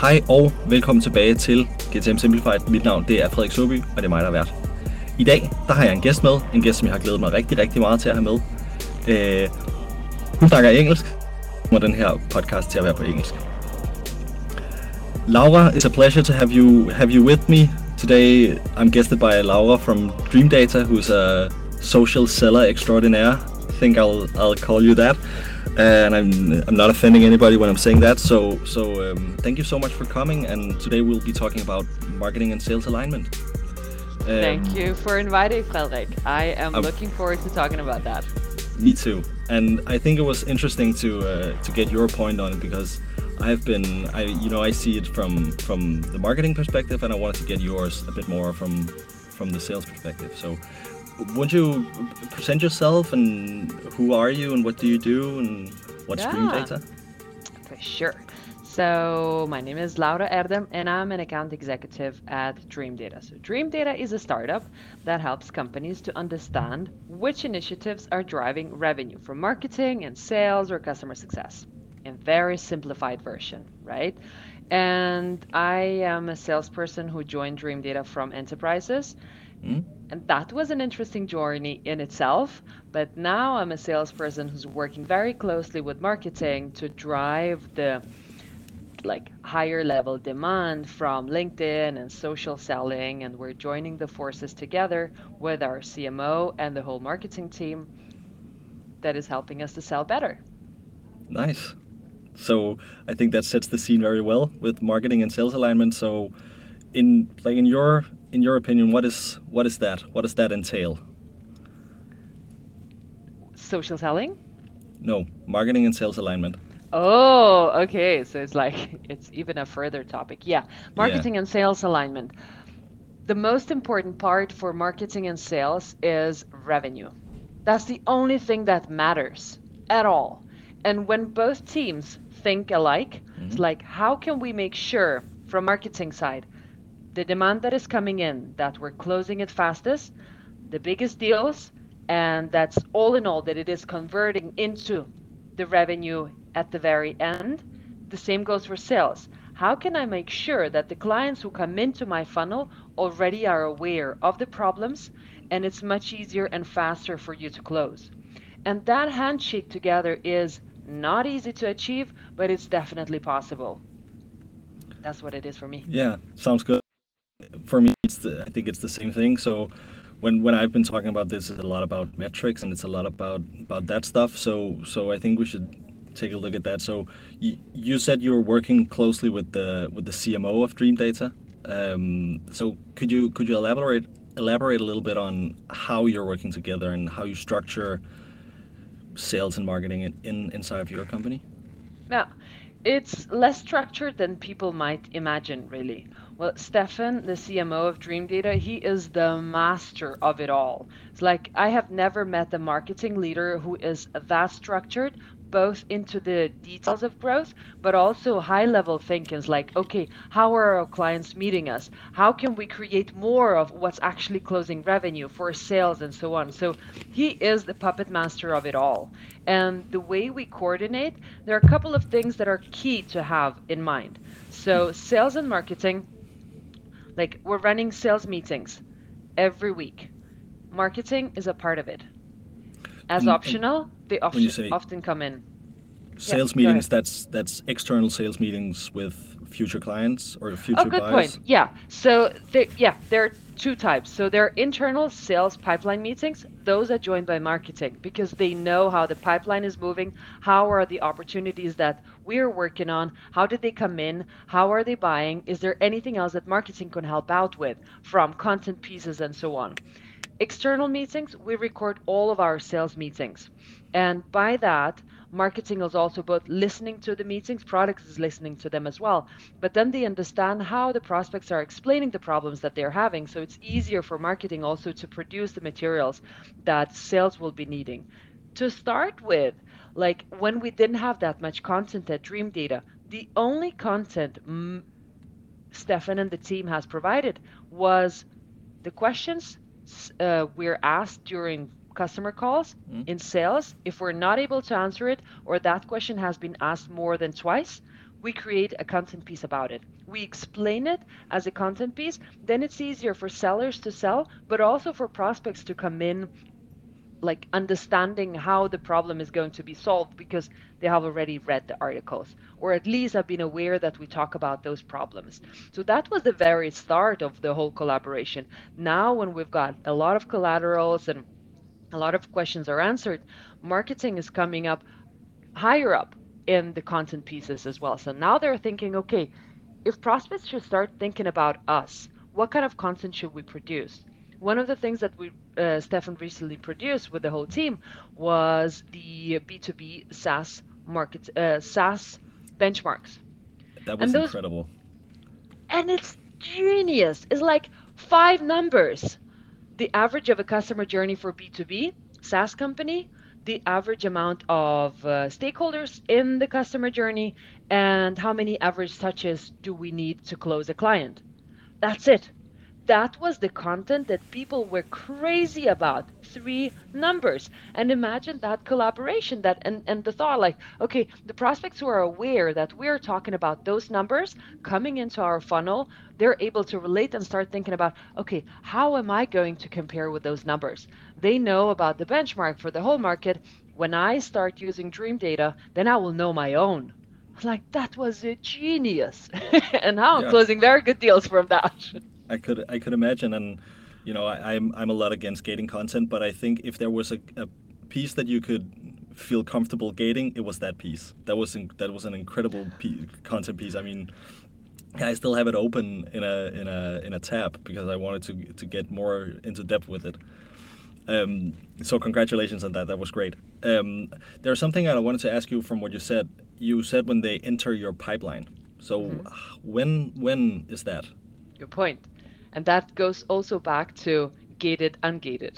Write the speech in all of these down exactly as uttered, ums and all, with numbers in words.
Hej og velkommen tilbage til G T M Simplified. Mit navn det er Frederik Søby, og det er mig, der er vært. I dag der har jeg en gæst med, en gæst, som jeg har glædet mig rigtig, rigtig meget til at have med. Øh, hun snakker engelsk, og den her podcast til at være på engelsk. Laura, it's a pleasure to have you have you with me today. I'm guested by Laura from Dream Data, who's a social seller extraordinaire. I think I'll I'll call you that. And I'm I'm not offending anybody when I'm saying that. So so um, thank you so much for coming. And today we'll be talking about marketing and sales alignment. Um, Thank you for inviting, Frederik. I am I'm, looking forward to talking about that. Me too. And I think it was interesting to uh, to get your point on it because I've been I you know I see it from from the marketing perspective, and I wanted to get yours a bit more from from the sales perspective. So. Won't you present yourself and who are you and what do you do and what's Yeah. Dream Data? For sure. So my name is Laura Erdem and I'm an account executive at Dream Data. So Dream Data is a startup that helps companies to understand which initiatives are driving revenue from marketing and sales or customer success in very simplified version, right? And I am a salesperson who joined Dream Data from enterprises. Mm? And that was an interesting journey in itself. But now I'm a salesperson who's working very closely with marketing to drive the like higher level demand from LinkedIn and social selling. And we're joining the forces together with our C M O and the whole marketing team that is helping us to sell better. Nice. So I think that sets the scene very well with marketing and sales alignment. So in like in your in your opinion, what is what is that? What does that entail? Social selling? No, marketing and sales alignment. Oh, okay. So it's like it's even a further topic. Yeah, marketing Yeah. and sales alignment. The most important part for marketing and sales is revenue. That's the only thing that matters at all. And when both teams think alike, it's Mhm. like, how can we make sure from marketing side, the demand that is coming in, that we're closing it fastest, the biggest deals, and that's all in all that it is converting into the revenue at the very end. The same goes for sales. How can I make sure that the clients who come into my funnel already are aware of the problems and it's much easier and faster for you to close? And that handshake together is not easy to achieve, but it's definitely possible. That's what it is for me. Yeah, sounds good. For me, it's the, I think it's the same thing. So when when I've been talking about this, it's a lot about metrics and it's a lot about about that stuff. So so I think we should take a look at that. So you, you said you were working closely with the with the C M O of Dream Data. Um, so could you could you elaborate elaborate a little bit on how you're working together and how you structure sales and marketing in, in inside of your company? Now, it's less structured than people might imagine, really. Well, Stefan, the C M O of Dream Data, he is the master of it all. It's like I have never met a marketing leader who is that structured, both into the details of growth, but also high level thinking. It's like, okay, how are our clients meeting us? How can we create more of what's actually closing revenue for sales and so on? So he is the puppet master of it all. And the way we coordinate, there are a couple of things that are key to have in mind. So sales and marketing, like we're running sales meetings every week. Marketing is a part of it. As And, and optional, they when you often say often come in. Yeah, sales go ahead. meetings, that's that's external sales meetings with future clients or Oh, future good point. buyers. Yeah. So there, yeah, there are two types. So there are internal sales pipeline meetings. Those are joined by marketing because they know how the pipeline is moving. How are the opportunities that we're working on? How did they come in? How are they buying? Is there anything else that marketing can help out with from content pieces and so on? External meetings, we record all of our sales meetings. And by that, marketing is also both listening to the meetings, products is listening to them as well. But then they understand how the prospects are explaining the problems that they're having. So it's easier for marketing also to produce the materials that sales will be needing. To start with, like when we didn't have that much content at Dream Data, the only content mm, Stefan and the team has provided was the questions uh, we're asked during customer calls Mm? in sales. If we're not able to answer it or that question has been asked more than twice, we create a content piece about it. We explain it as a content piece, then it's easier for sellers to sell, but also for prospects to come in like understanding how the problem is going to be solved because they have already read the articles or at least have been aware that we talk about those problems. So that was the very start of the whole collaboration. Now, when we've got a lot of collaterals and a lot of questions are answered, marketing is coming up higher up in the content pieces as well. So now they're thinking, okay, if prospects should start thinking about us, what kind of content should we produce? One of the things that we, uh, Stefan recently produced with the whole team was the B two B SaaS market, uh, SaaS benchmarks. That And was those, incredible. and it's genius. It's like five numbers. The average of a customer journey for B two B SaaS company, the average amount of uh, stakeholders in the customer journey, and how many average touches do we need to close a client. That's it. That was the content that people were crazy about. Three numbers. And imagine that collaboration that and, and the thought like, okay, the prospects who are aware that we're talking about those numbers coming into our funnel, they're able to relate and start thinking about, okay, how am I going to compare with those numbers? They know about the benchmark for the whole market. When I start using Dream Data, then I will know my own. Like that was a genius. And now I'm Yeah, closing very good deals from that. I could I could imagine, and you know I, I'm I'm a lot against gating content, but I think if there was a, a piece that you could feel comfortable gating, it was that piece. That was in, that was an incredible p- content piece. I mean, I still have it open in a in a in a tab because I wanted to to get more into depth with it. Um, so congratulations on that. That was great. Um, there's something I wanted to ask you from what you said. You said when they enter your pipeline. So Mhm. when when is that? Good point. And that goes also back to gated, ungated.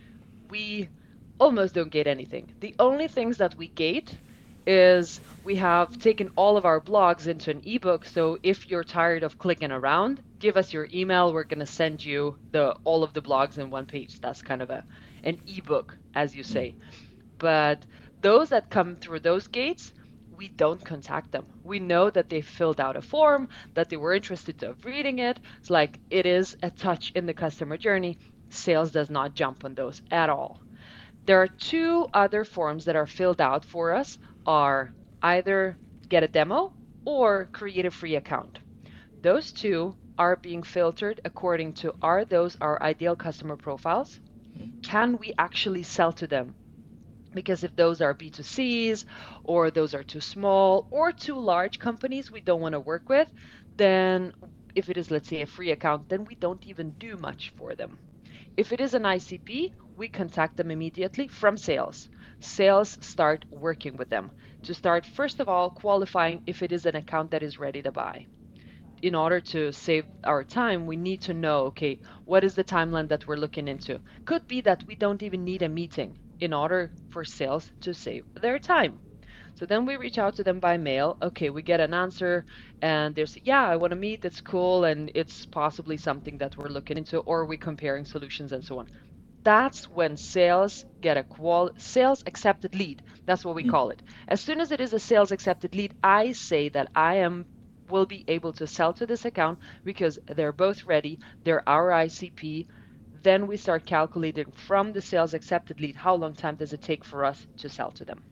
We almost don't gate anything. The only things that we gate is we have taken all of our blogs into an ebook. So if you're tired of clicking around, give us your email. We're going to send you the all of the blogs in one page. That's kind of a an ebook, as you Mm. say. But those that come through those gates, we don't contact them. We know that they filled out a form, that they were interested of reading it. It's like it is a touch in the customer journey. Sales does not jump on those at all. There are two other forms that are filled out for us are either get a demo or create a free account. Those two are being filtered according to are those our ideal customer profiles? Can we actually sell to them? Because if those are B two Cs or those are too small or too large companies we don't want to work with, then if it is, let's say, a free account, then we don't even do much for them. If it is an I C P, we contact them immediately from sales. Sales start working with them to start, first of all, qualifying if it is an account that is ready to buy. In order to save our time, we need to know, okay, what is the timeline that we're looking into? Could be that we don't even need a meeting in order for sales to save their time. So then we reach out to them by mail. Okay, we get an answer and there's, yeah, I want to meet. It's cool. And it's possibly something that we're looking into, or we comparing solutions and so on. That's when sales get a qual sales accepted lead. That's what we Mm. call it. As soon as it is a sales accepted lead, I say that I am will be able to sell to this account because they're both ready. They're our I C P. Then we start calculating from the sales accepted lead, how long time does it take for us to sell to them?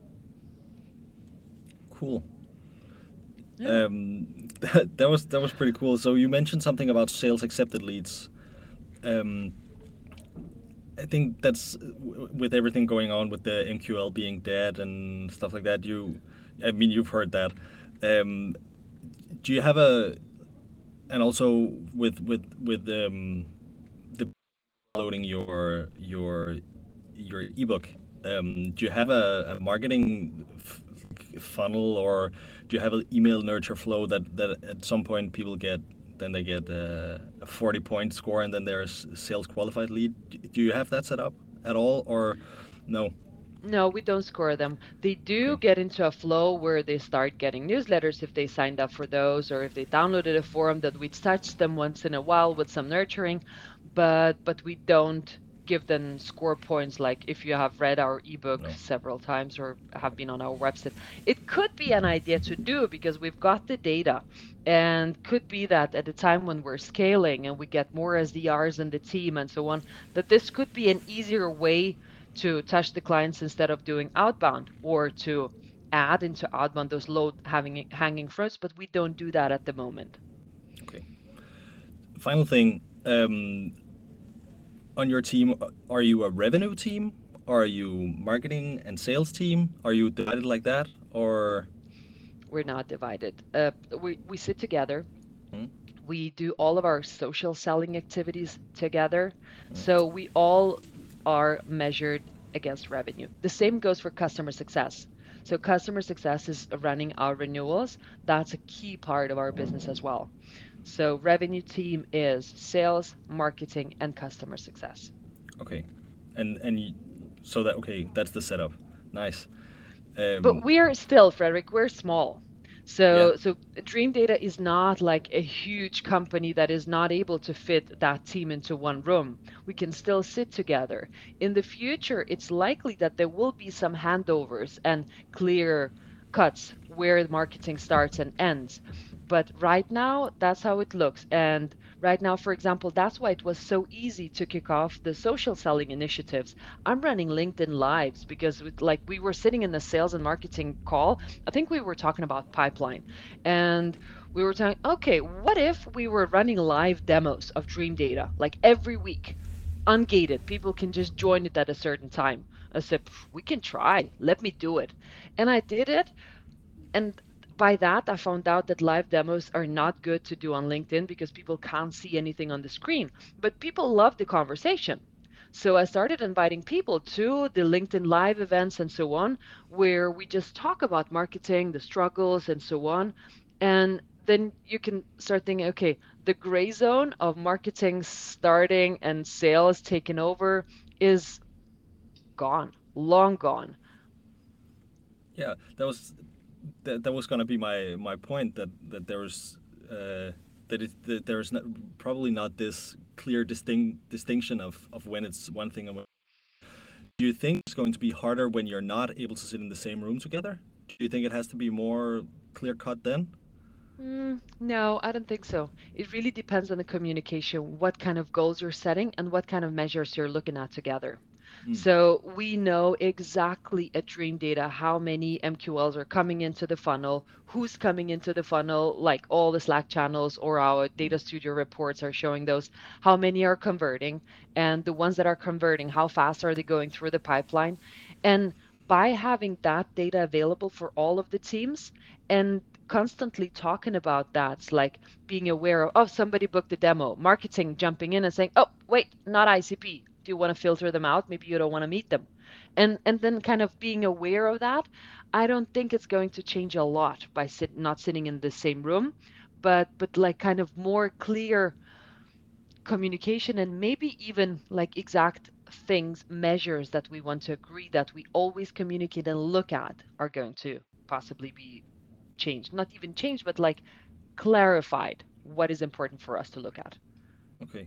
Cool. Yeah. Um, that, that was that was pretty cool. So you mentioned something about sales accepted leads. Um, I think that's w- with everything going on with the M Q L being dead and stuff like that. You, I mean, you've heard that. Um, do you have a and also with with with um, the loading your your your ebook? Um, do you have a, a marketing f- funnel or do you have an email nurture flow that that at some point people get then they get uh, a forty point score and then there's sales qualified lead? Do you have that set up at all or no? No, we don't score them. They Okay. do get into a flow where they start getting newsletters if they signed up for those, or if they downloaded a forum that we touch them once in a while with some nurturing, but but we don't give them score points, like if you have read our ebook No. several times or have been on our website. It could be an idea to do because we've got the data, and could be that at the time when we're scaling and we get more S D Rs in the team and so on, that this could be an easier way to touch the clients instead of doing outbound, or to add into outbound those low having hanging fruits, but we don't do that at the moment. Okay. Final thing. Um, on your team, are you a revenue team? Are you marketing and sales team? Are you divided like that? Or We're not divided. Uh, we we sit together. hmm? We do all of our social selling activities together. So we all are measured against revenue. The same goes for customer success. So customer success is running our renewals. That's a key part of our business as well. So revenue team is sales, marketing, and customer success. Okay, and and y- so that okay, that's the setup. Nice. But Um, we're still, Frederick, we're small. yeah. So so Dream Data is not like a huge company that is not able to fit that team into one room. We can still sit together. In the future, it's likely that there will be some handovers and clear cuts where the marketing starts and ends. But right now, that's how it looks. And right now, for example, that's why it was so easy to kick off the social selling initiatives. I'm running LinkedIn Lives because with, like we were sitting in the sales and marketing call. I think we were talking about pipeline, and we were talking, okay, what if we were running live demos of Dream Data like every week, ungated? People can just join it at a certain time. I said, we can try. Let me do it. And I did it. And by that, I found out that live demos are not good to do on LinkedIn because people can't see anything on the screen. But people love the conversation. So I started inviting people to the LinkedIn Live events and so on, where we just talk about marketing, the struggles, and so on. And then you can start thinking, okay, the gray zone of marketing starting and sales taking over is gone, long gone. Yeah, that was that, that was gonna be my my point that that there's uh, that it that there's not, probably not this clear distinct distinction of of when it's one thing and when. Do you think it's going to be harder when you're not able to sit in the same room together? Do you think it has to be more clear cut then? Mm, no, I don't think so. It really depends on the communication, what kind of goals you're setting and what kind of measures you're looking at together. Mm. So we know exactly at Dream Data how many M Q Ls are coming into the funnel, who's coming into the funnel, like all the Slack channels or our Data Studio reports are showing those, how many are converting, and the ones that are converting, how fast are they going through the pipeline? And by having that data available for all of the teams, and constantly talking about that, like being aware of, oh, somebody booked a demo, marketing jumping in and saying, oh, wait, not I C P. Do you want to filter them out? Maybe you don't want to meet them. And and then kind of being aware of that, I don't think it's going to change a lot by sit, not sitting in the same room, but but like kind of more clear communication, and maybe even like exact things, measures that we want to agree that we always communicate and look at are going to possibly be changed. Not even changed, but like clarified what is important for us to look at. Okay.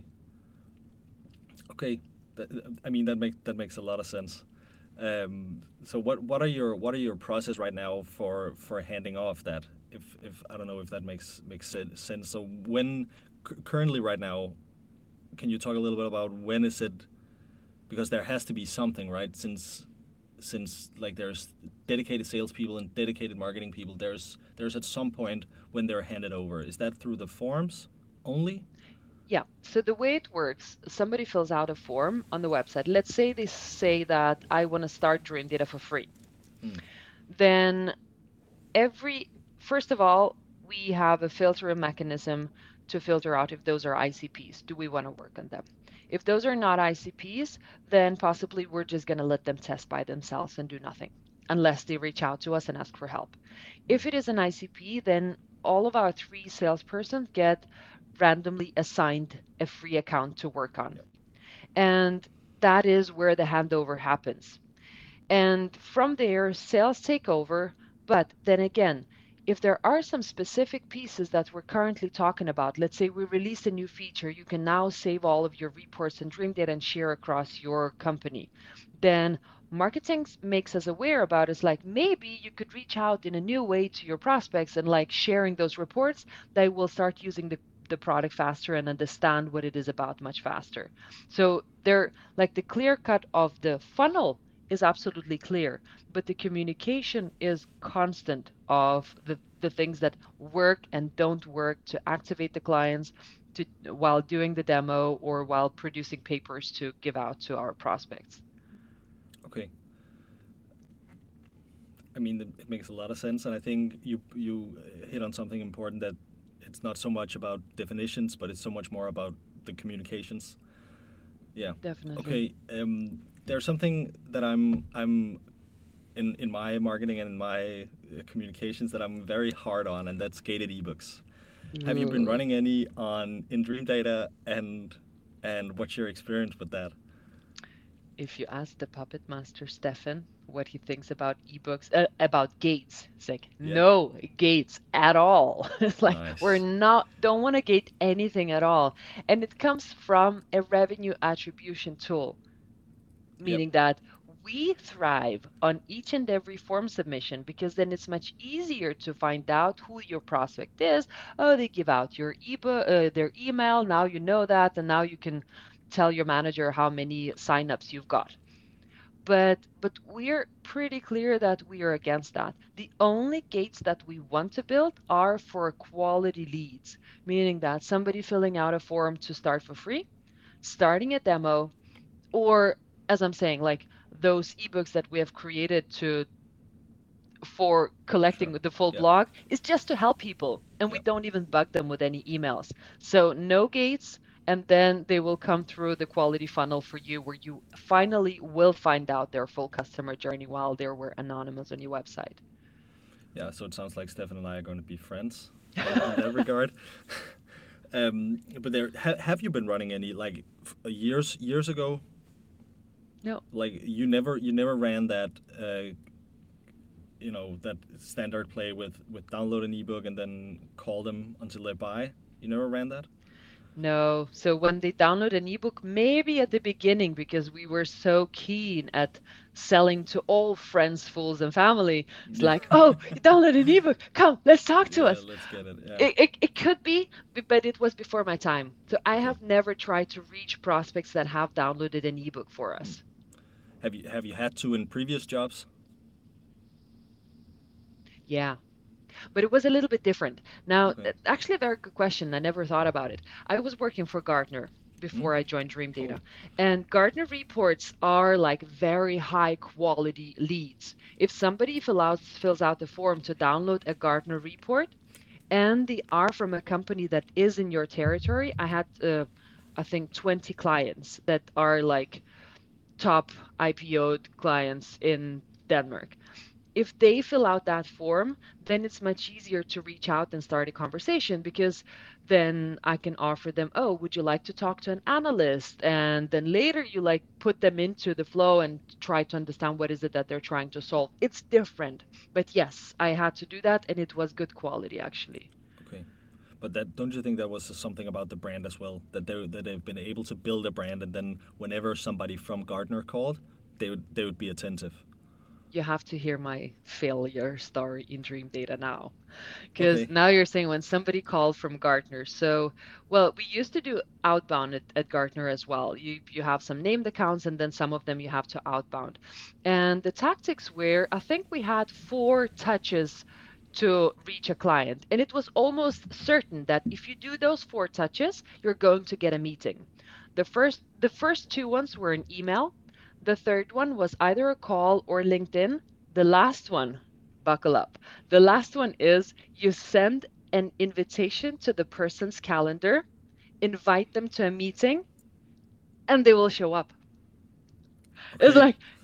Okay. That, I mean that makes that makes a lot of sense. Um, so what what are your what are your process right now for for handing off that? If if I don't know if that makes makes sense. So when c- currently right now, can you talk a little bit about when is it, because there has to be something, right? Since since like there's dedicated salespeople and dedicated marketing people, there's there's at some point when they're handed over. Is that through the forms only? Yeah. So the way it works, somebody fills out a form on the website. Let's say they say that I want to start Dream Data for free. Hmm. Then every, first of all, we have a filtering mechanism to filter out if those are I C Ps. Do we want to work on them? If those are not I C Ps, then possibly we're just going to let them test by themselves and do nothing unless they reach out to us and ask for help. Hmm. If it is an I C P, then all of our three salespersons get randomly assigned a free account to work on. Yeah. And that is where the handover happens. And from there, sales take over. But then again, if there are some specific pieces that we're currently talking about, let's say we release a new feature, you can now save all of your reports in Dream Data and share across your company. Then marketing s- makes us aware about is like maybe you could reach out in a new way to your prospects and like sharing those reports, they will start using the the product faster and understand what it is about much faster. So they're like the clear cut of the funnel is absolutely clear, but the communication is constant of the, the things that work and don't work to activate the clients to while doing the demo or while producing papers to give out to our prospects. Okay. I mean, it it makes a lot of sense, and I think you you hit on something important, that it's not so much about definitions, but it's so much more about the communications. Yeah. Definitely. Okay. Um, there's something that I'm I'm in in my marketing and in my uh, communications that I'm very hard on, and that's gated ebooks. Have you been Ooh. running any on in Dream Data, and and what's your experience with that? If you ask the puppet master Stefan what he thinks about ebooks, uh, about gates, it's like Yeah. no gates at all. It's like we're Nice. not don't want to gate anything at all, and it comes from a revenue attribution tool, Yep. meaning that we thrive on each and every form submission because then it's much easier to find out who your prospect is. Oh, they give out your ebook, uh, their email. Now you know that, and now you can tell your manager how many signups you've got. But but we're pretty clear that we are against that. The only gates that we want to build are for quality leads, meaning that somebody filling out a form to start for free, starting a demo, or as I'm saying, like those ebooks that we have created to for collecting Sure. the full Yep. blog is just to help people, and we Yep. don't even bug them with any emails. So no gates, and then they will come through the quality funnel for you, where you finally will find out their full customer journey while they were anonymous on your website. Yeah. So it sounds like Stefan and I are going to be friends on, on that regard. Um, but there, ha, have you been running any, like, f- years years ago? No, Like, you never you never ran that uh, you know that standard play with with download an ebook and then call them until they buy. You never ran that. no. So when they download an ebook, maybe at the beginning, because we were so keen at selling to all friends, fools, and family, it's Yeah. like, oh, you download an ebook, come, let's talk to Yeah. us. Let's get it. Yeah. It, it, it could be, b- but it was before my time. So I Okay. have never tried to reach prospects that have downloaded an ebook for Hmm. us. Have you have you had to in previous jobs? Yeah, but it was a little bit different. Now, Okay. uh, actually, a very good question. I never thought about it. I was working for Gartner Hmm. before I joined Dream Cool. Data, and Gartner reports are like very high quality leads. If somebody fill out, fills out the form to download a Gartner report, and they are from a company that is in your territory, I had, uh, I think, twenty clients that are like top I P O'd clients in Denmark. If they fill out that form, then it's much easier to reach out and start a conversation because then I can offer them, oh, would you like to talk to an analyst? And then later you like put them into the flow and try to understand what is it that they're trying to solve. It's different. But yes, I had to do that and it was good quality actually. Okay. But that, don't you think that was something about the brand as well? That they that they've been able to build a brand, and then whenever somebody from Gartner called, they would they would be attentive. You have to hear my failure story in Dream Data now. Because Okay. now you're saying when somebody called from Gartner. So, well, we used to do outbound at, at Gartner as well. You you have some named accounts and then some of them you have to outbound. And the tactics were, I think we had four touches to reach a client. And it was almost certain that if you do those four touches, you're going to get a meeting. The first the first two ones were an email. The third one was either a call or LinkedIn. The last one, buckle up. The last one is you send an invitation to the person's calendar, invite them to a meeting, and they will show up. It's Okay. like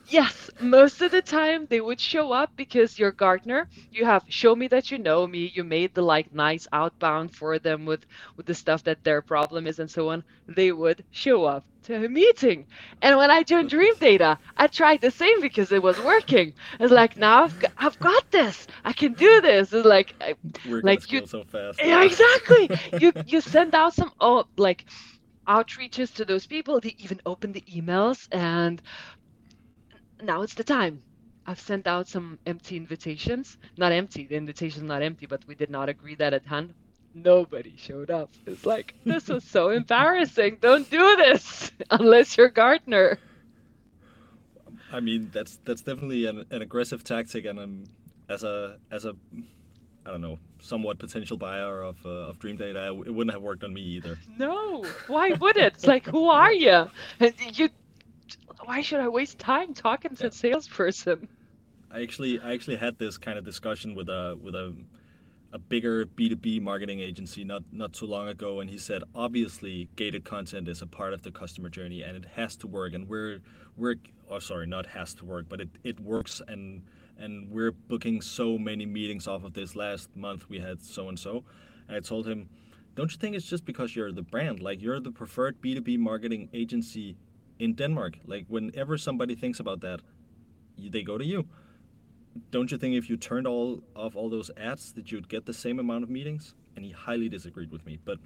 Yes, most of the time they would show up because you're Gartner. You have show me that you know me. You made the like nice outbound for them with with the stuff that their problem is and so on. They would show up to a meeting. And when I joined Dream Data, I tried the same because it was working. It's like now I've got, I've got this. I can do this. It's like I- We're gonna like you scale so fast. yeah, Yeah. exactly. You you send out some oh like outreaches to those people. They even open the emails and now it's the time. I've sent out some empty invitations. Not empty, the invitation's not empty, but we did not agree that at hand. Nobody showed up. It's like, this is so embarrassing. Don't do this unless you're Gartner. I mean, that's that's definitely an, an aggressive tactic, and um, as a as a I don't know, somewhat potential buyer of uh, of Dream Data, it wouldn't have worked on me either. No, why would it? It's like, who are you? And you, why should I waste time talking to Yeah. a salesperson? I actually I actually had this kind of discussion with a with a a bigger B two B marketing agency not not too long ago, and he said obviously gated content is a part of the customer journey and it has to work, and we're we're oh sorry, not has to work, but it, it works, and and we're booking so many meetings off of this. Last month we had so and so, and I told him, don't you think it's just because you're the brand, like you're the preferred B two B marketing agency in Denmark, like whenever somebody thinks about that, they go to you. Don't you think if you turned all off all those ads that you'd get the same amount of meetings? And he highly disagreed with me, but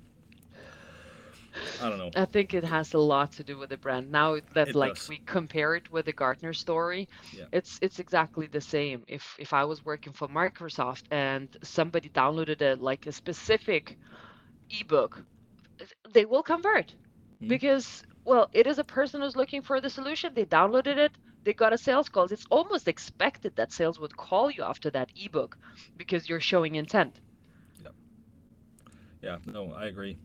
I don't know. I think it has a lot to do with the brand. Now that It like does. we compare it with the Gartner story, Yeah. it's it's exactly the same. If if I was working for Microsoft and somebody downloaded a like a specific ebook, they will convert Hmm. because well, it is a person who's looking for the solution. They downloaded it, they got a sales call. It's almost expected that sales would call you after that ebook because you're showing intent. Yeah. Yeah. No, I agree.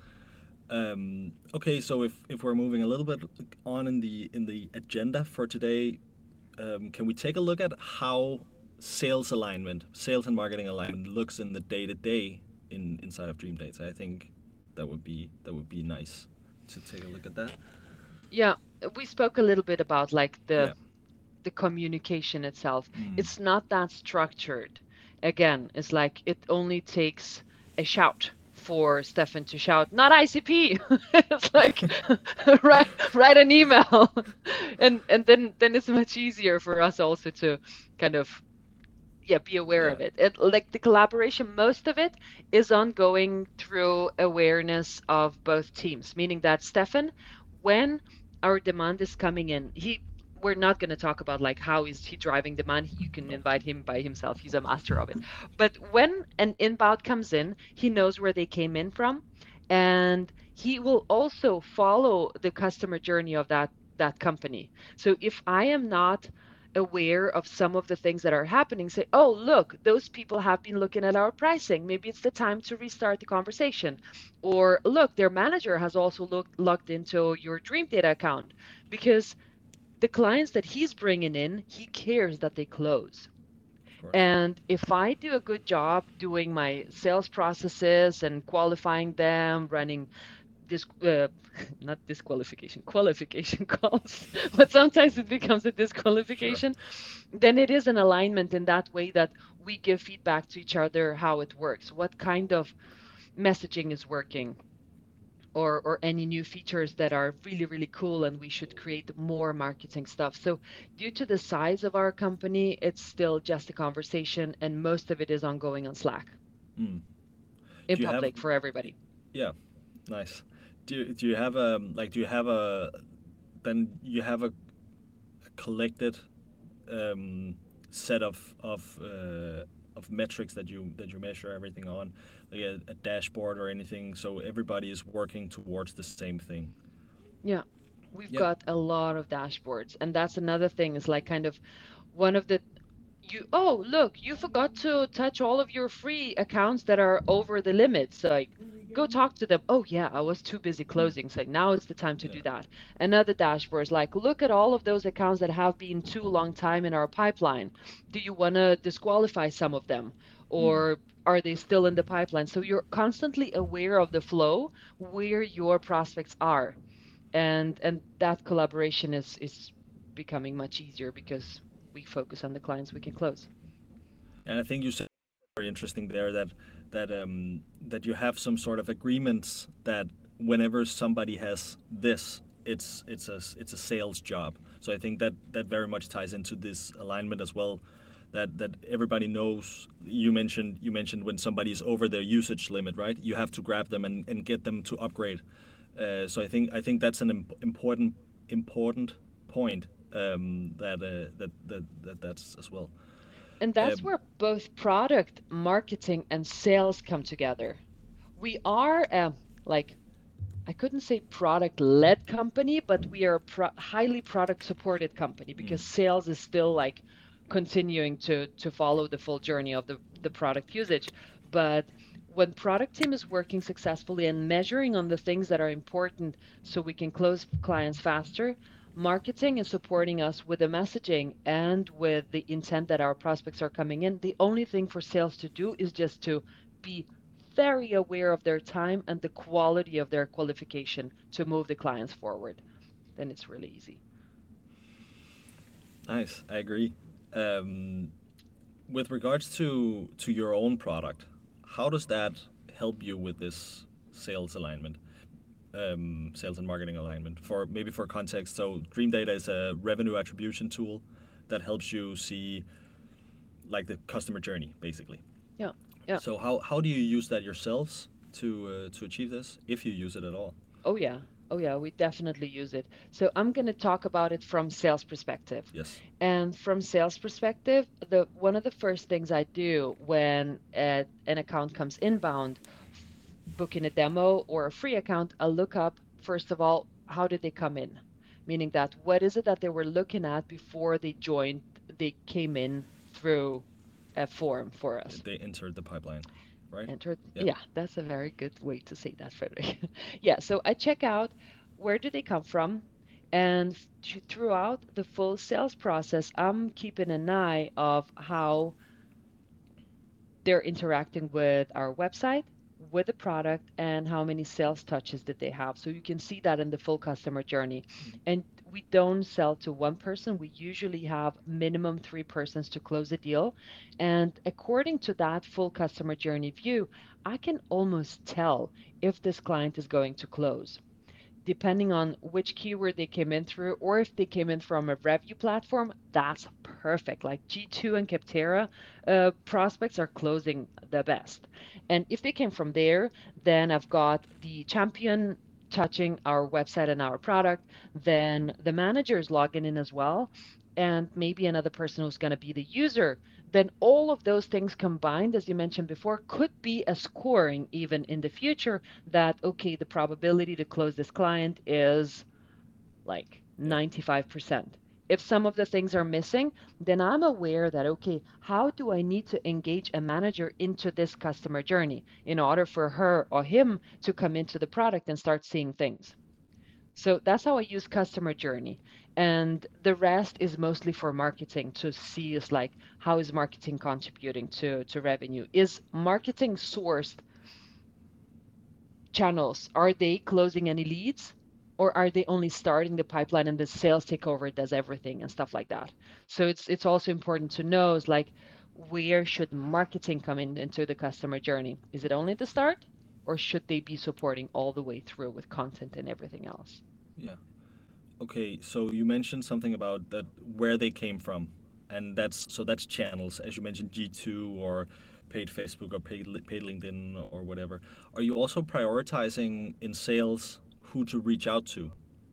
Um, okay, so if, if we're moving a little bit on in the in the agenda for today, um, can we take a look at how sales alignment, sales and marketing alignment looks in the day to day in inside of Dream Dates? I think that would be that would be nice to take a look at that. Yeah, we spoke a little bit about like the Yeah. the communication itself. Mm. It's not that structured. Again, it's like it only takes a shout for Stefan to shout, not I C P. It's like write write an email. And and then then it's much easier for us also to kind of yeah, be aware Yeah. of it. It like the collaboration, most of it is ongoing through awareness of both teams, meaning that Stefan, when our demand is coming in, he we're not going to talk about like how is he driving demand. You can No. invite him by himself. He's a master of it. But when an inbound comes in, he knows where they came in from, and he will also follow the customer journey of that that company. So if I am not aware of some of the things that are happening, say, oh, look, those people have been looking at our pricing. Maybe it's the time to restart the conversation. Or look, their manager has also looked logged into your Dream Data account because the clients that he's bringing in, he cares that they close. Of course. And if I do a good job doing my sales processes and qualifying them, running this uh, not disqualification qualification calls, but sometimes it becomes a Sure. disqualification, then it is an alignment in that way that we give feedback to each other how it works, what kind of messaging is working, or or any new features that are really really cool and we should create more marketing stuff. So due to the size of our company, it's still just a conversation and most of it is ongoing on Slack Mm. in Do you have? public for everybody. Yeah. Nice. Do you, do you have a like? Do you have a then you have a, a collected um, set of of uh, of metrics that you that you measure everything on, like a, a dashboard or anything, so everybody is working towards the same thing. Yeah, we've Yep. got a lot of dashboards, and that's another thing is like kind of one of the you oh look, you forgot to touch all of your free accounts that are over the limits. Like go talk to them. Oh yeah, I was too busy Mm. closing. So now is the time to Yeah. do that. Another dashboard is like look at all of those accounts that have been too long time in our pipeline. Do you want to disqualify some of them, Mm. or are they still in the pipeline? So you're constantly aware of the flow where your prospects are, and and that collaboration is is becoming much easier because we focus on the clients we can close. And I think you said very interesting there that that um, that you have some sort of agreements that whenever somebody has this, it's it's a it's a sales job. So I think that that very much ties into this alignment as well. That that everybody knows. You mentioned you mentioned when somebody's over their usage limit, right? You have to grab them and, and get them to upgrade. Uh, so I think I think that's an imp- important important point um, that, uh, that that that that's as well. And that's Um, where both product, marketing, and sales come together. We are um, like I couldn't say product led company, but we are a pro- highly product supported company because sales is still like continuing to to follow the full journey of the the product usage. But when product team is working successfully and measuring on the things that are important so we can close clients faster, marketing is supporting us with the messaging and with the intent that our prospects are coming in. The only thing for sales to do is just to be very aware of their time and the quality of their qualification to move the clients forward. Then it's really easy. Nice, I agree. Um, with regards to to your own product, how does that help you with this sales alignment, um, sales and marketing alignment? For maybe for context, so Dream Data is a revenue attribution tool that helps you see like the customer journey, basically. Yeah. Yeah. So how how do you use that yourselves to uh, to achieve this, if you use it at all? Oh yeah. Oh yeah, we definitely use it. So I'm going to talk about it from sales perspective. Yes. And from sales perspective, the one of the first things I do when uh, an account comes inbound, f- booking a demo or a free account, I'll look up first of all, how did they come in? Meaning that what is it that they were looking at before they joined, they came in through a form for us. They entered the pipeline, right? Entered. Yeah. Yeah, that's a very good way to say that, Frederick. Yeah, so I check out where do they come from, and th- throughout the full sales process, I'm keeping an eye of how they're interacting with our website, with the product, and how many sales touches did they have. So you can see that in the full customer journey. And we don't sell to one person. We usually have minimum three persons to close a deal. And according to that full customer journey view, I can almost tell if this client is going to close depending on which keyword they came in through, or if they came in from a review platform, that's perfect. Like G two and Capterra uh, prospects are closing the best. And if they came from there, then I've got the champion touching our website and our product, then the manager is logging in as well. And maybe another person who's going to be the user, then all of those things combined, as you mentioned before, could be a scoring even in the future that, okay, the probability to close this client is like Yeah. ninety-five percent. If some of the things are missing, then I'm aware that, okay, how do I need to engage a manager into this customer journey in order for her or him to come into the product and start seeing things? So that's how I use customer journey. And the rest is mostly for marketing to see is like, how is marketing contributing to, to revenue? Is marketing sourced channels, are they closing any leads? Or are they only starting the pipeline and the sales takeover does everything and stuff like that? So it's it's also important to know is like where should marketing come in into the customer journey? Is it only the start, or should they be supporting all the way through with content and everything else? Yeah. Okay, so you mentioned something about that where they came from, and that's so that's channels, as you mentioned, G two or paid Facebook or paid Li- paid LinkedIn or whatever. Are you also prioritizing in sales who to reach out to?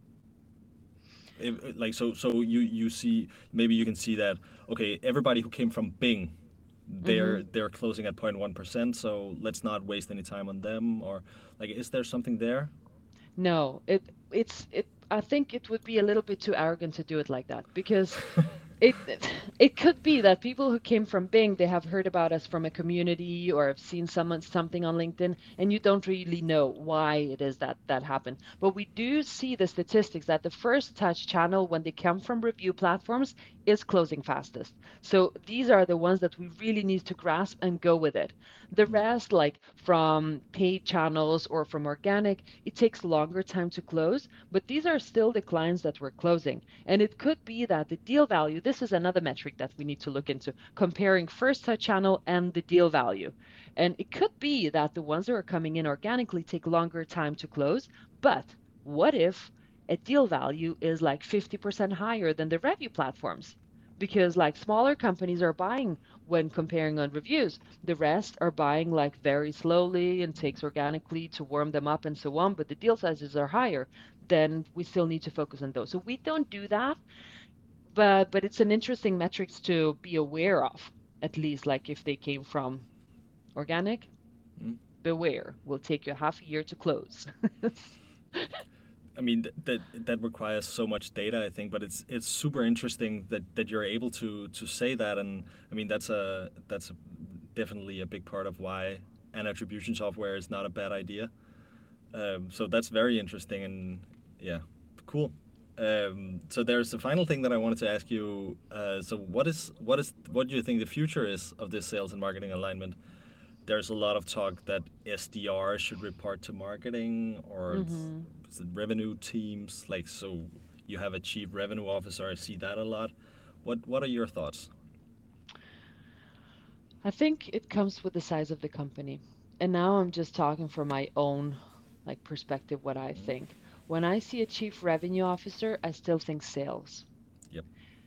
If, like so, so you you see maybe you can see that okay, everybody who came from Bing, Mm-hmm. they're they're closing at zero point one percent, so let's not waste any time on them. Or like, is there something there? No, it it's it I think it would be a little bit too arrogant to do it like that because it it could be that people who came from Bing, they have heard about us from a community or have seen someone something on LinkedIn, and you don't really know why it is that that happened. But we do see the statistics that the first touch channel when they come from review platforms is closing fastest. So these are the ones that we really need to grasp and go with it. The rest, like from paid channels or from organic, it takes longer time to close, but these are still the clients that we're closing. And it could be that the deal value, this is another metric that we need to look into, comparing first touch channel and the deal value. And it could be that the ones that are coming in organically take longer time to close, but what if a deal value is like fifty percent higher than the review platforms? Because like smaller companies are buying when comparing on reviews, the rest are buying like very slowly and takes organically to warm them up and so on, but the deal sizes are higher, then we still need to focus on those. So we don't do that, but but it's an interesting metrics to be aware of, at least like if they came from organic, Mm. beware, will take you half a year to close. I mean th- that that requires so much data, I think, but it's it's super interesting that, that you're able to to say that, and I mean that's a that's a, definitely a big part of why an attribution software is not a bad idea. Um, so that's very interesting, and yeah, cool. Um, so there's the final thing that I wanted to ask you. Uh, so what is what is what do you think the future is of this sales and marketing alignment? There's a lot of talk that S D R should report to marketing, or it's, hmm it's the revenue teams. Like, so you have a chief revenue officer. I see that a lot. What What are your thoughts? I think it comes with the size of the company. And now I'm just talking from my own like perspective what I Mm. think. When I see a chief revenue officer, I still think sales. Yep.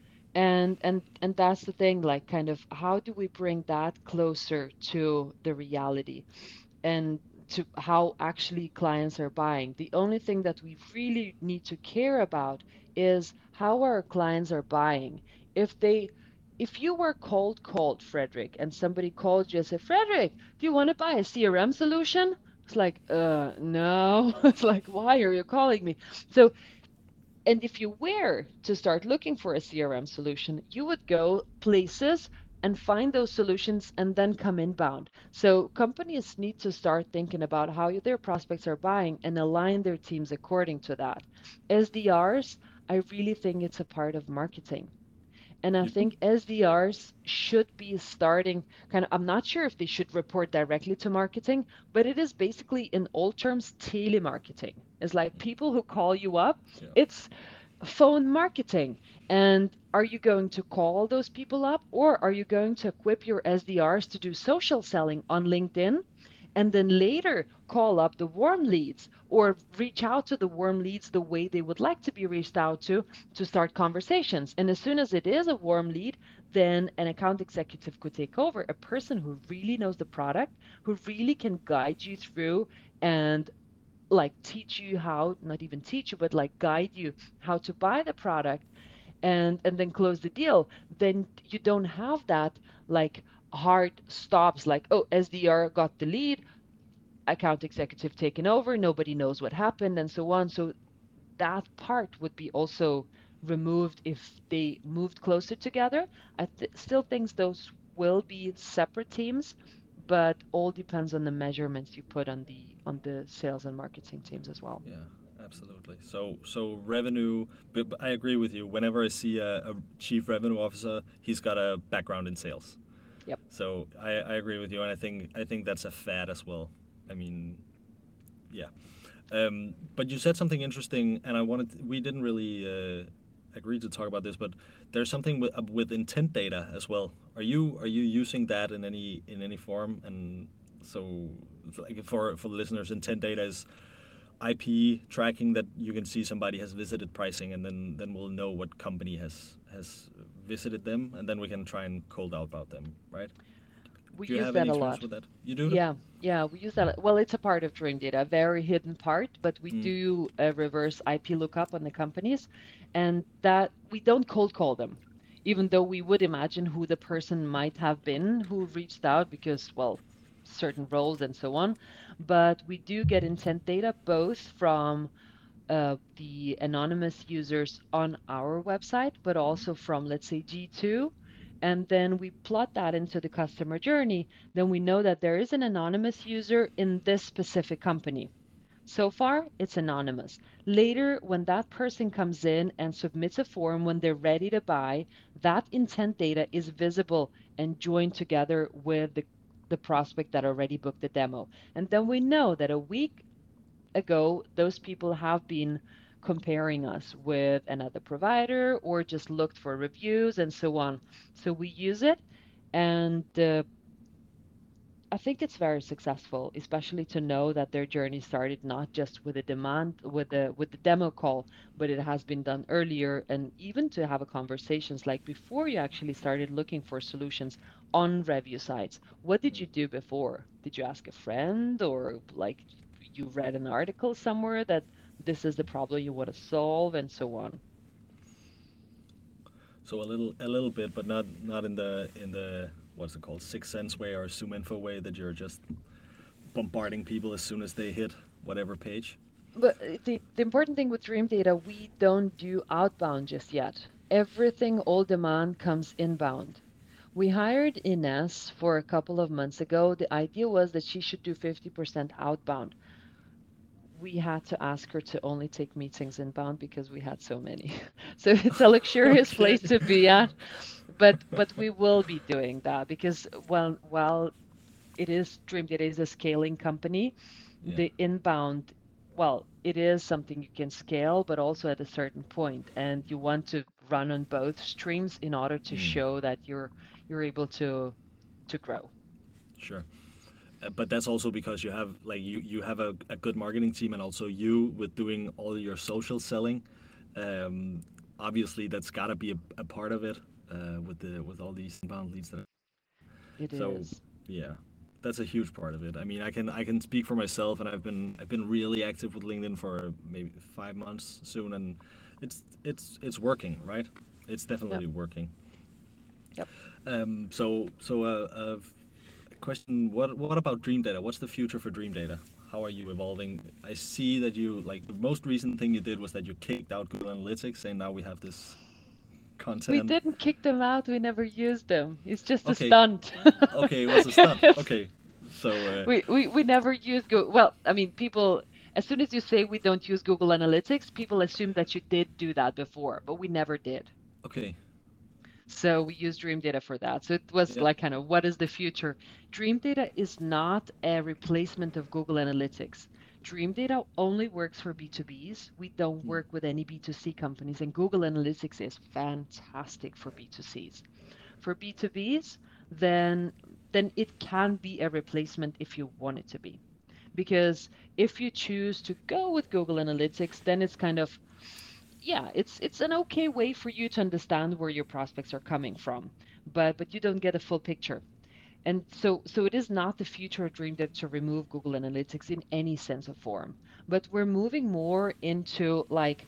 And and and that's the thing, like kind of how do we bring that closer to the reality and to how actually clients are buying? The only thing that we really need to care about is how our clients are buying. If they if you were cold called, Frederick, and somebody called you and said, Frederick, do you want to buy a C R M solution? It's like, uh, no. It's like, why are you calling me? So and if you were to start looking for a C R M solution, you would go places and find those solutions and then come inbound. So companies need to start thinking about how their prospects are buying and align their teams according to that. S D Rs, I really think it's a part of marketing. And I You do? think S D Rs should be starting kind of, I'm not sure if they should report directly to marketing, but it is basically in all terms telemarketing. It's like people who call you up. Yeah. It's phone marketing. And are you going to call those people up or are you going to equip your S D Rs to do social selling on LinkedIn and then later call up the warm leads or reach out to the warm leads the way they would like to be reached out to to start conversations? And as soon as it is a warm lead, then an account executive could take over, a person who really knows the product, who really can guide you through and like teach you how, not even teach you, but like guide you how to buy the product and and then close the deal. Then you don't have that like hard stops like, oh, S D R got the lead, account executive taken over, nobody knows what happened and so on. So that part would be also removed if they moved closer together. I th- still think those will be separate teams, but all depends on the measurements you put on the on the sales and marketing teams as well. Yeah, absolutely. So, so revenue. But but I agree with you. Whenever I see a, a chief revenue officer, he's got a background in sales. Yep. So I, I agree with you, and I think I think that's a fad as well. I mean, yeah. Um, but you said something interesting, and I wanted. We didn't really uh, agree to talk about this, but there's something with, uh, with intent data as well. Are you are you using that in any in any form? And so, like for for the listeners, intent data is I P tracking that you can see somebody has visited pricing, and then then we'll know what company has has visited them, and then we can try and cold out about them, right? We Do you use have that any a experience lot. with that? You do? Yeah, yeah, we use that. Well, it's a part of Dream Data, a very hidden part, but we Mm, do a reverse I P lookup on the companies, and that we don't cold call them, even though we would imagine who the person might have been who reached out because, well, certain roles and so on. But we do get intent data both from uh, the anonymous users on our website, but mm, also from, let's say, G two. And then we plot that into the customer journey. Then we know that there is an anonymous user in this specific company. So far, it's anonymous. Later, when that person comes in and submits a form when they're ready to buy, that intent data is visible and joined together with the, the prospect that already booked the demo. And then we know that a week ago, those people have been comparing us with another provider or just looked for reviews and so on. So we use it, and uh, I think it's very successful, especially to know that their journey started not just with a demand with the with the demo call, but it has been done earlier, and even to have a conversations like before you actually started looking for solutions on review sites. What did you do before? Did you ask a friend, or like you read an article somewhere that this is the problem you want to solve and so on? So a little a little bit, but not not in the in the what's it called, sixth sense way or zoom info way that you're just bombarding people as soon as they hit whatever page. But uh, the, the important thing with Dream Data, we don't do outbound just yet. Everything, all demand comes inbound. We hired Ines for a couple of months ago. The idea was that she should do fifty percent outbound. We had to ask her to only take meetings inbound because we had so many. So it's a luxurious Okay. place to be at. But but we will be doing that because well while it is Dream Data is a scaling company, Yeah. the inbound, well, it is something you can scale, but also at a certain point, and you want to run on both streams in order to Mm, show that you're you're able to to grow. sure. Uh, but that's also because you have like you you have a, a good marketing team, and also you with doing all your social selling. Um, Obviously, that's got to be a, a part of it uh, with the with all these inbound leads that. It So is. yeah, that's a huge part of it. I mean, I can I can speak for myself, and I've been I've been really active with LinkedIn for maybe five months soon, and it's it's it's working, right? It's Yep. definitely working. Yep. Um, so so uh, uh, question: What what about Dream Data? What's the future for Dream Data? How are you evolving? I see that you like the most recent thing you did was that you kicked out Google Analytics, saying now we have this We content. didn't kick them out. We never used them. It's just a Okay, stunt. okay, it was a stunt. Okay, so uh, we, we we never use Google. Well, I mean, people, as soon as you say we don't use Google Analytics, people assume that you did do that before, but we never did. okay, So we use Dream Data for that. So it was yeah, like kind of what is the future? Dream Data is not a replacement of Google Analytics. Dream Data only works for B two Bs. We don't mm, work with any B two C companies, and Google Analytics is fantastic for B two Cs. For B two Bs, then then it can be a replacement if you want it to be. Because if you choose to go with Google Analytics, then it's kind of yeah, it's it's an okay way for you to understand where your prospects are coming from, but but you don't get a full picture. And so so it is not the future of DreamDev to remove Google Analytics in any sense of form, but we're moving more into like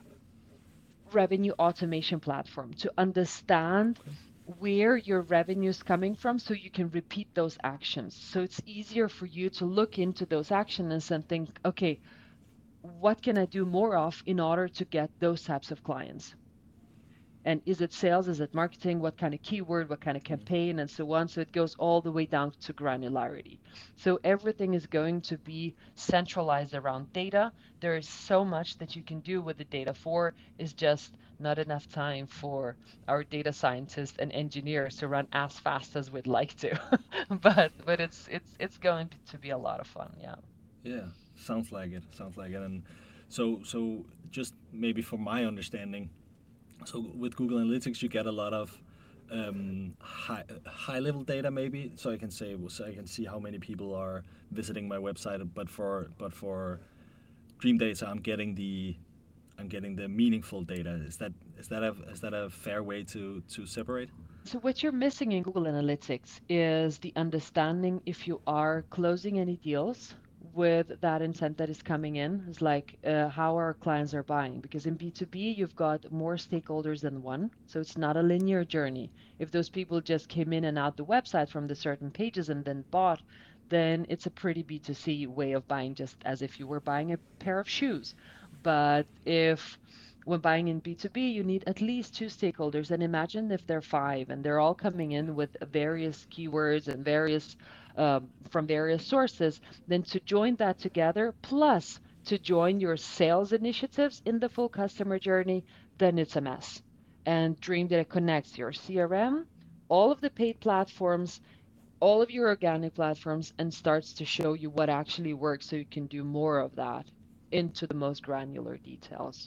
revenue automation platform to understand okay, where your revenue is coming from so you can repeat those actions. So it's easier for you to look into those actions and think, okay, what can I do more of in order to get those types of clients? And is it sales? Is it marketing? What kind of keyword? What kind of mm, campaign? And so on. So it goes all the way down to granularity. So everything is going to be centralized around data. There is so much that you can do with the data for, is just not enough time for our data scientists and engineers to run as fast as we'd like to. but but it's it's it's going to be a lot of fun. Yeah. yeah, sounds like it, sounds like it, and so so just maybe from my understanding, so with Google Analytics you get a lot of um, high high level data maybe, so I can say so I can see how many people are visiting my website, but for but for Dream Data I'm getting the I'm getting the meaningful data. Is that is that a is that a fair way to to separate? So what you're missing in Google Analytics is the understanding if you are closing any deals with that intent that is coming in. It's like uh, how our clients are buying. Because in B two B, you've got more stakeholders than one. So it's not a linear journey. If those people just came in and out the website from the certain pages and then bought, then it's a pretty B two C way of buying, just as if you were buying a pair of shoes. But if when buying in B two B, you need at least two stakeholders. And imagine if they're five and they're all coming in with various keywords and various um, from various sources, then to join that together, plus to join your sales initiatives in the full customer journey, then it's a mess. And Dream Data connects your C R M, all of the paid platforms, all of your organic platforms, and starts to show you what actually works so you can do more of that into the most granular details.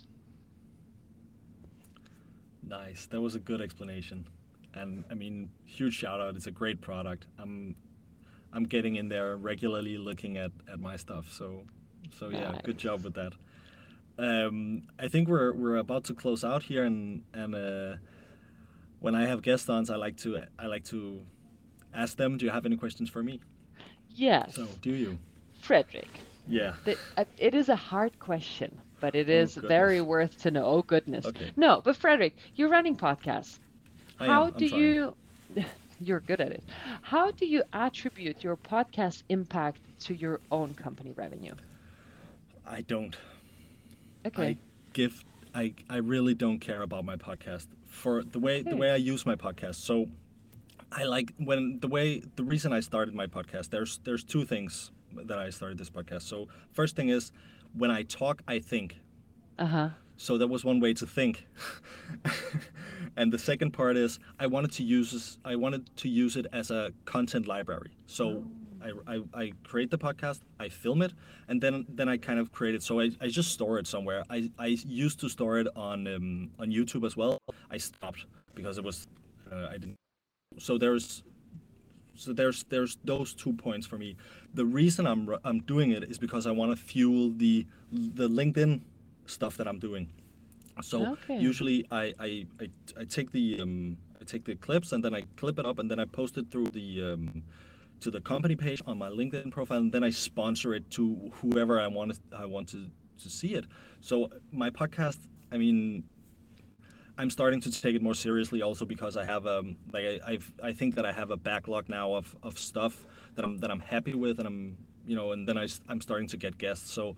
Nice. That was a good explanation. And I mean, huge shout out. It's a great product. I'm I'm getting in there regularly looking at, at my stuff. So so yeah, Nice. good job with that. Um, I think we're we're about to close out here, and and uh, when I have guest ons, I like to I like to ask them. Do you have any questions for me? So Yes, do you? Frederick. Yeah. The, uh, it is a hard question, but it Oh is very goodness. worth to know. Oh, goodness. Okay. No, but Frederick, you're running podcasts. I am. How I'm do trying. you, you're good at it. How do you attribute your podcast impact to your own company revenue? I don't. I Okay. give. I I really don't care about my podcast for the way the Okay. way I use my podcast. So I like when the way the reason I started my podcast. There's there's two things that I started this podcast. So first thing is when I talk, I think. Uh-huh. So that was one way to think. And the second part is I wanted to use this, I wanted to use it as a content library. So Oh. I, I, I create the podcast, I film it, and then then I kind of create it. So I, I just store it somewhere. I, I used to store it on um, on YouTube as well. I stopped because it was uh, I didn't. So there's so there's there's those two points for me. The reason I'm r- I'm doing it is because I want to fuel the the LinkedIn stuff that I'm doing. So Okay. usually I I, I, I take the um, I take the clips and then I clip it up and then I post it through the um, to the company page on my LinkedIn profile, and then I sponsor it to whoever I want to, I want to to see it. So my podcast, I mean, I'm starting to take it more seriously also because I have um like I I've, I think that I have a backlog now of, of stuff that I'm that I'm happy with, and I'm you know and then I am starting to get guests. So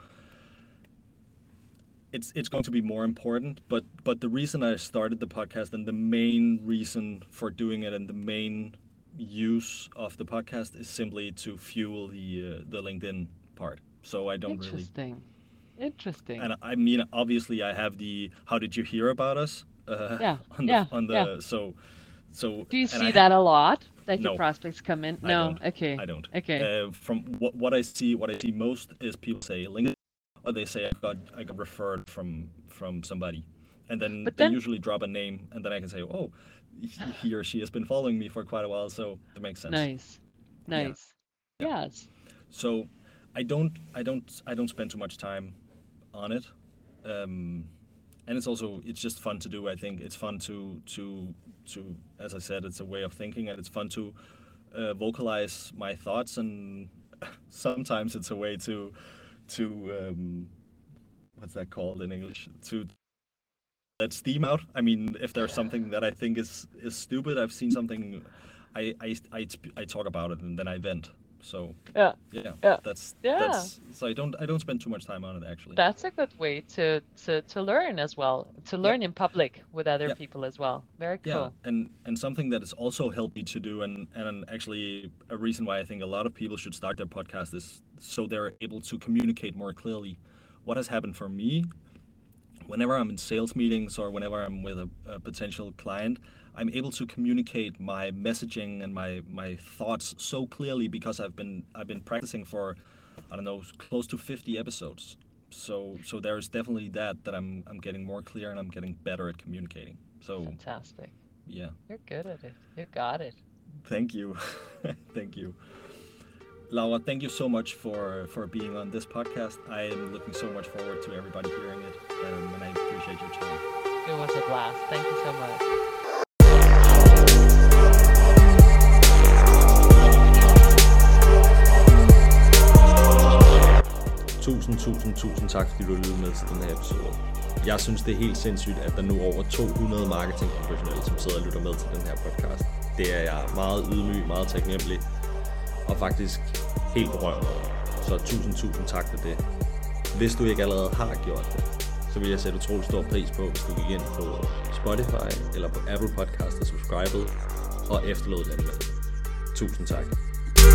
it's it's going to be more important, but but the reason I started the podcast and the main reason for doing it and the main use of the podcast is simply to fuel the uh, the LinkedIn part. So I don't really. Interesting. Interesting. And I mean, obviously, I have the "How did you hear about us?" uh, Yeah. on the Yeah. on Yeah. the so so Do you and I see ha- that a lot? That your no, prospects come in? I No. don't. Okay. I don't. Okay. Uh, from what what I see, what I see most is people say LinkedIn, or they say I got I got referred from from somebody, and then But they then, usually drop a name, and then I can say, oh, he he or she has been following me for quite a while, so it makes sense. nice. Yeah, Nice. yeah. Yes. So I don't I don't I don't spend too much time on it. Um, and it's also it's just fun to do. I think it's fun to to to as I said, it's a way of thinking, and it's fun to uh, vocalize my thoughts, and sometimes it's a way to to um, what's that called in English, to let steam out. I mean, if there's something that I think is is stupid, I've seen something, I I I, sp- I talk about it and then I vent. So Yeah. yeah, Yeah. that's Yeah. that's so I don't I don't spend too much time on it actually. That's a good way to to to learn as well, to Yep. learn in public with other Yep. people as well. Very Yeah, cool. and and something that has also helped me to do, and and actually a reason why I think a lot of people should start their podcast is so they're able to communicate more clearly. What has happened for me, whenever I'm in sales meetings or whenever I'm with a, a potential client, I'm able to communicate my messaging and my my thoughts so clearly because I've been I've been practicing for I don't know close to fifty episodes. So so there's definitely that that I'm I'm getting more clear and I'm getting better at communicating. So Fantastic. yeah. You're good at it. You got it. Thank you. Thank you. Laura, thank you so much for, for being on this podcast. I am looking so much forward to everybody hearing it, um, and I appreciate your time. It was a blast. Thank you so much. Tusind, tusind, tusind tak, fordi du lyttede med til den her episode. Jeg synes, det er helt sindssygt, at der nu er over to hundrede marketingprofessionelle, som sidder og lytter med til den her podcast. Det er jeg meget ydmyg, meget taknemmelig, og faktisk helt berørt over. Så tusind, tusind tak for det. Hvis du ikke allerede har gjort det, så vil jeg sætte utrolig stor pris på, hvis du gik ind på Spotify eller på Apple Podcast og subscribede og efterlod den med. Tusind tak.